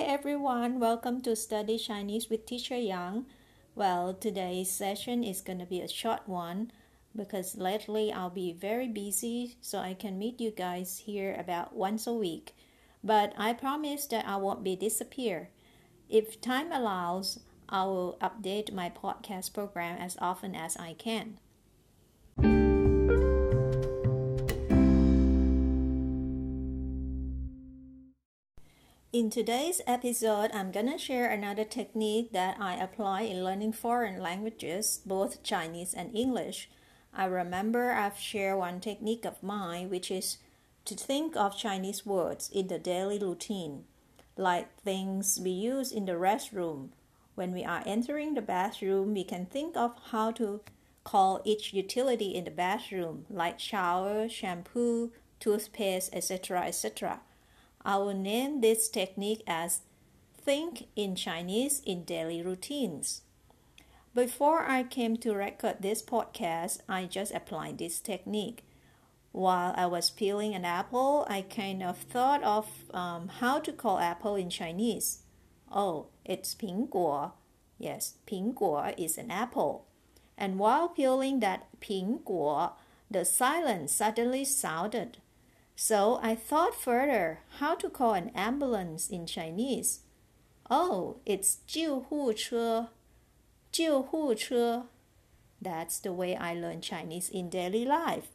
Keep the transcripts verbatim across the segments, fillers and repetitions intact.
everyone, welcome to Study Chinese with Teacher Yang. Well, today's session is going to be a short one because lately I'll be very busy, so I can meet you guys here about once a week. But I promise that I won't be disappear. If time allows, I will update my podcast program as often as I can. In today's episode, I'm gonna share another technique that I apply in learning foreign languages, both Chinese and English. I remember I've shared one technique of mine, which is to think of Chinese words in the daily routine, like things we use in the restroom. When we are entering the bathroom, we can think of how to call each utility in the bathroom, like shower, shampoo, toothpaste, et cetera, et cetera. I will name this technique as Think in Chinese in Daily Routines. Before I came to record this podcast, I just applied this technique. While I was peeling an apple, I kind of thought of um, how to call apple in Chinese. Oh, it's 苹果. Yes, 苹果 is an apple. And while peeling that 苹果, the silence suddenly sounded. So I thought further how to call an ambulance in Chinese. Oh, it's 救护车.救护车. That's the way I learn Chinese in daily life.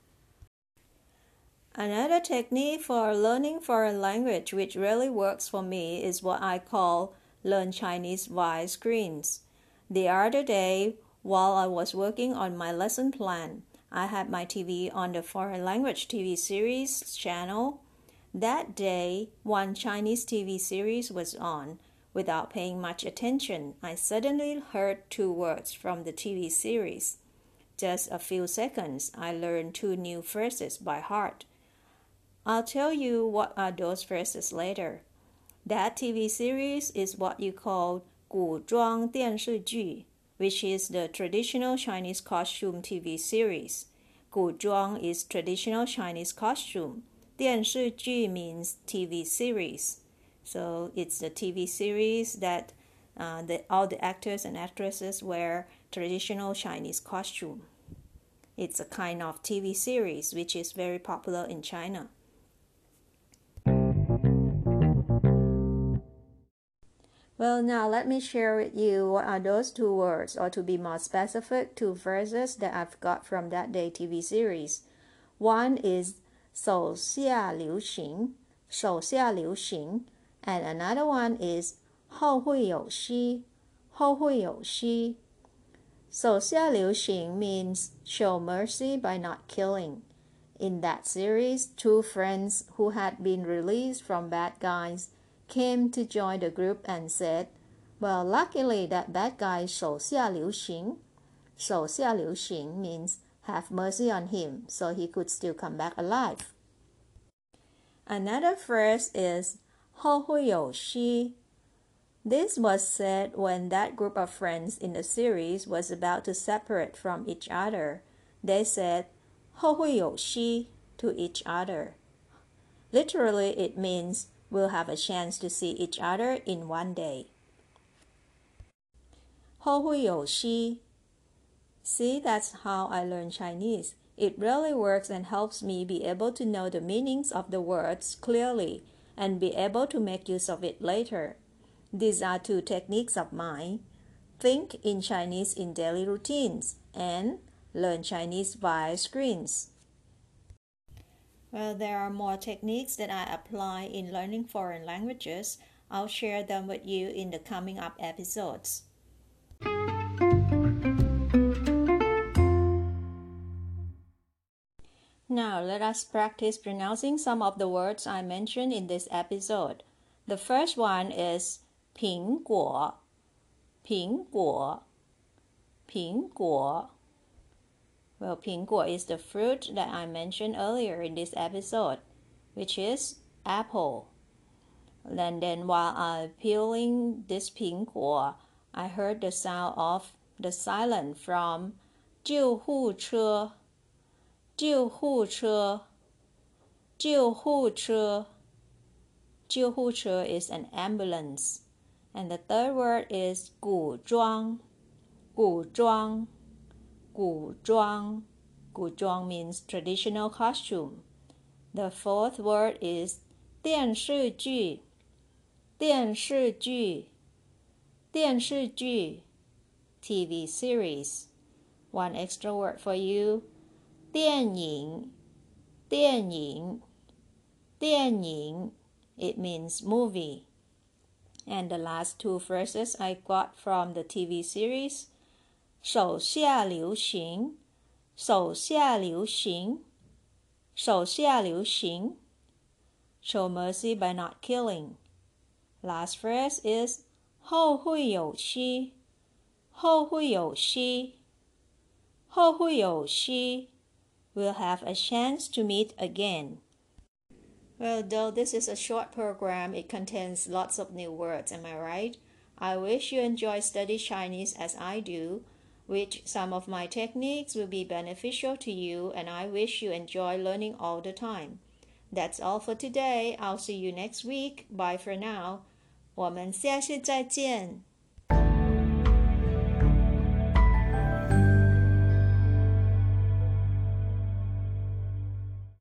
Another technique for learning foreign language which really works for me is what I call learn Chinese via screens. The other day, while I was working on my lesson plan, I had my T V on the foreign language T V series channel. That day, one Chinese T V series was on. Without paying much attention, I suddenly heard two words from the T V series. Just a few seconds, I learned two new phrases by heart. I'll tell you what are those phrases later. That T V series is what you call 古装电视剧, which is the traditional Chinese costume T V series. 古装 is traditional Chinese costume. 电视剧 means T V series. So it's the T V series that uh, the, all the actors and actresses wear traditional Chinese costume. It's a kind of T V series which is very popular in China. Well, now let me share with you what are those two words, or to be more specific, two phrases that I've got from that day T V series. One is 手下留情,手下留情, and another one is 后会有期,后会有期. 手下留情 means show mercy by not killing. In that series, two friends who had been released from bad guys came to join the group and said, well, luckily that bad guy 手下留情. 手下留情 means have mercy on him so he could still come back alive. Another phrase is 后会有期. This was said when that group of friends in the series was about to separate from each other. They said 后会有期 to each other. Literally, it means we'll have a chance to see each other in one day. 后会有期. See, that's how I learn Chinese. It really works and helps me be able to know the meanings of the words clearly and be able to make use of it later. These are two techniques of mine. Think in Chinese in daily routines and learn Chinese via screens. Well, there are more techniques that I apply in learning foreign languages. I'll share them with you in the coming up episodes. Now, let us practice pronouncing some of the words I mentioned in this episode. The first one is 苹果,苹果,苹果. Well, 苹果 is the fruit that I mentioned earlier in this episode, which is apple. And then while I'm peeling this 苹果, I heard the sound of the silent from 救护车,救护车,救护车. 救护车 is an ambulance. And the third word is 古装古装古装古装 means traditional costume. The fourth word is 电视剧电视剧电视剧 T V series. One extra word for you. 电影电影电影 it means movie. And the last two phrases I got from the T V series. 手下留情手下留情手下留情 show mercy by not killing. Last phrase is 后会有期后会有期后会有期 we'll have a chance to meet again. Well, though this is a short program, it contains lots of new words, am I right? I wish you enjoy study Chinese as I do, which some of my techniques will be beneficial to you, and I wish you enjoy learning all the time. That's all for today. I'll see you next week. Bye for now. 我们下次再见。